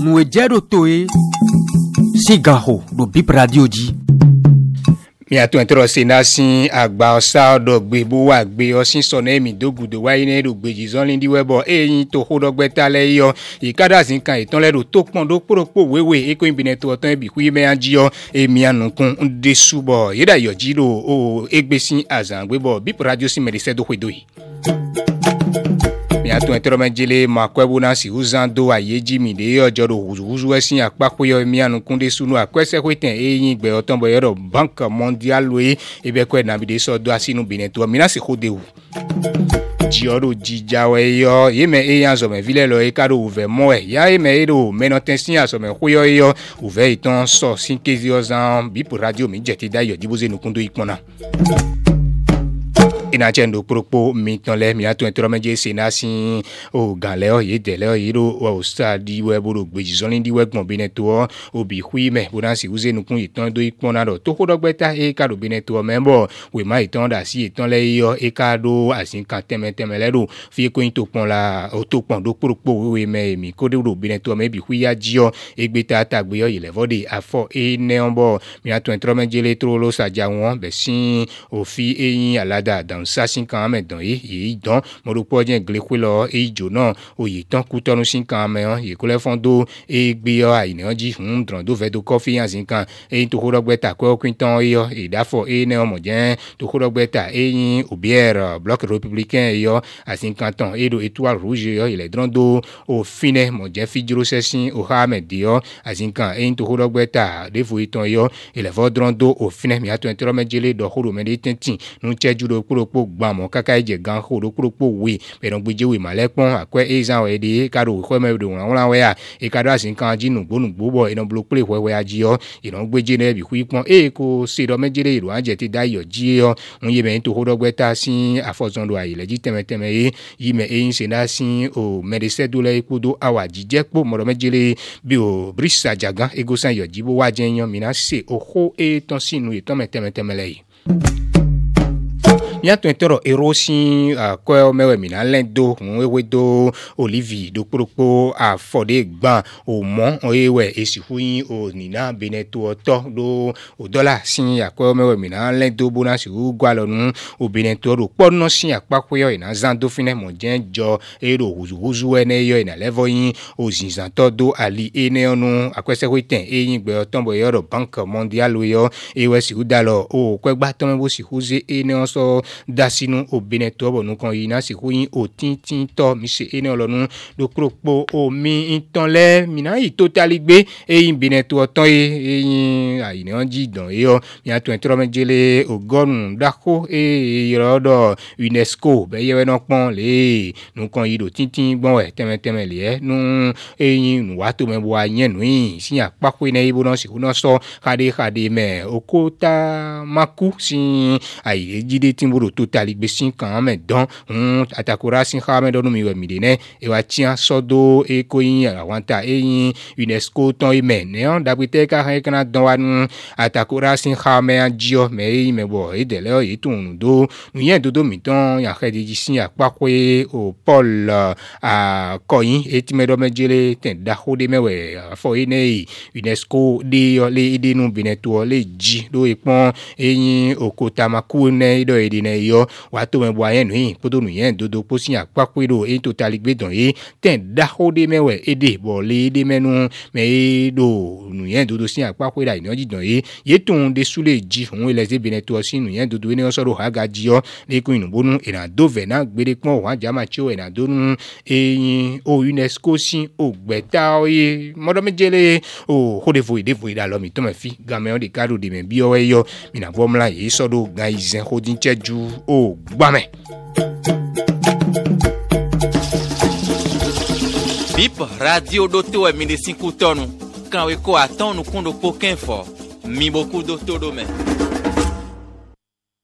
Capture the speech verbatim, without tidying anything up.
nous ejero toe sigaho do Bip Radio di mi atu entro senasi agba osa odogbe bo wa gbe osin sona emi dogudo wa ine do gbeji zonlin di webo eyin to hodogbe tale yo ikada sin kan itan le do to pon do poropo wewe eko ibine to otan ebi kuyi me anjiyo emi anukun de subo yeda yo jiro o egbesin azan gbebo Bip Radio si medise do hwedo yi mi atu entro menjele makwebu na si uzando ayeji mi de ojo do huzu esin apapo yo emi anukun de sunu akwese kweten eyin gbe otan bo yoro bank mondial we ebe kwe na bi de so do asinu bine to mi na se khode wu jioro jijawe yo yeme eyan zo me vile lo e kado uve mo e ya yeme edo menotensin aso me khoyo yo uve iton so sin kezi ozan Bip Radio mi jeti da yo diboze nukundo ipona ina chendo propo mitonle mi atu entro meje senasi o ganle o yedele o yiro o stadi weburo gbeji zonlin di wegbon bineto obi huime bonasi uze nukun iton do ipona do to kodogbeta e kado bineto membo we ma iton da si iton le yo e kado asin kan teme teme le do fi ko into pon la o to pon do propo we me mi ko de do bineto me bi huya jio egbeta tagbe yo ile vode afo e neombo mi atu entro meje le tro lo saja won be sin o fi eyin alada dan sasin kan me don yi yi don mo ro po je glekwe lo e jo na oyi tan ku tonu sin kan me han yi ko le fondo e gbe yo ai ne ji hun dron do ve do coffee yan sin kan e to ko rogbe ta ko kwin tan yo e da fo e ne mo je to ko rogbe ta e yin obier bloc républicain yo asin kan tan e do étoile rouge yo ile dron do o fine mo je fi jiro sesin o ha me di yo asin kan e to ko rogbe ta de fo itan yo ile vo dron do o fine mi ato entro mejele do horo me de tintin nu cheju do kuro gbamo kaka eje gan hodo kuropo we be don gbeje we malepon akwe ezan we de kado ko me do won we a e kado asin kan jinu gbonu gbobo ina blo play we we ajiyo ina gbeje na bi ku ipon e ko se do mejele iro anje ti dayo jiyo un ye be to hodo gbeta sin afozon do ayi leji teme teme e yi me e se na sin o medese do le ikudo awa jije po mo do mejele bi o brisa jagan ego san yo jibo wa jenyan mi na se o ho e ton sinu e ton teme teme le yi ya to entero erosin ko mewe mi na lendo wewe do Olivier do propo a fode gban o mo ewe esihuyin o ni na beneto oto do o dollar sin akọ mewe mi na lendo bonus u gwa lonu o beneto ro pono sin apapo yo ina zando fine mo jenjo ero huzu huzu ene yo ina level yin o zinzan to do ali ene onu akwese witen eyin gbe otonbo yo bank mondial yo ewe si udalo o kwegba to me bo si huze ene oso dasinu obineto bo nukon yina si huyin o tintin to mi se ene olonu do kropo o mi itanle mi na yi totally gbe eyin bineto otan e eyin ayine onji dan e yo mi atu entro mejele ogorun dako e irodo UNESCO be yewe no pon le nukon yi do tintin gbon we teme teme le e nu eyin nu wa to me bo ayen nu yin si apako ine ibo no si hu no so kade kade me okota maku si ayi jide timburo totally gbe sin kan me don un atakora sin ha me don mi we mi de ne e wa tian sodo e ko yin awanta eyin UNESCO ton e me ne on dagbite ka han kan don wa nu atakora sin ha me anjio me e me bo e de le o yi tun do nu yen dodo mi ton ya khedi ji sin apako e o Paul a koyin e ti me do mejele ten da hode me we fo ine UNESCO de yo le ide nu bineto le ji do e pon eyin okota maku ne do e de ne yo wa to me bo ayen nu podo nu yen dodo po sin apako do e totally gbe don e ten da hode me we ede bo le ede menu me do nu yen dodo sin apako da ino ji don e ye tun de sule ji fun ele ze bineto sin nu yen dodo ni so ro ha ga ji yo le ko inu bonu ina do ve na gbere pon wa jama chi o ina do nu eyin o UNESCO sin o gbeta o ye modo mejele o hode vo ide vo ida lo mi to me fi game on de karo de me bi o we yo mi na vo mla ye so do ga izen hodin cheju o gba me. Bip Radio do te we mi de cinco tonu kan we ko atonu kundo poken fo mi boku do todo me.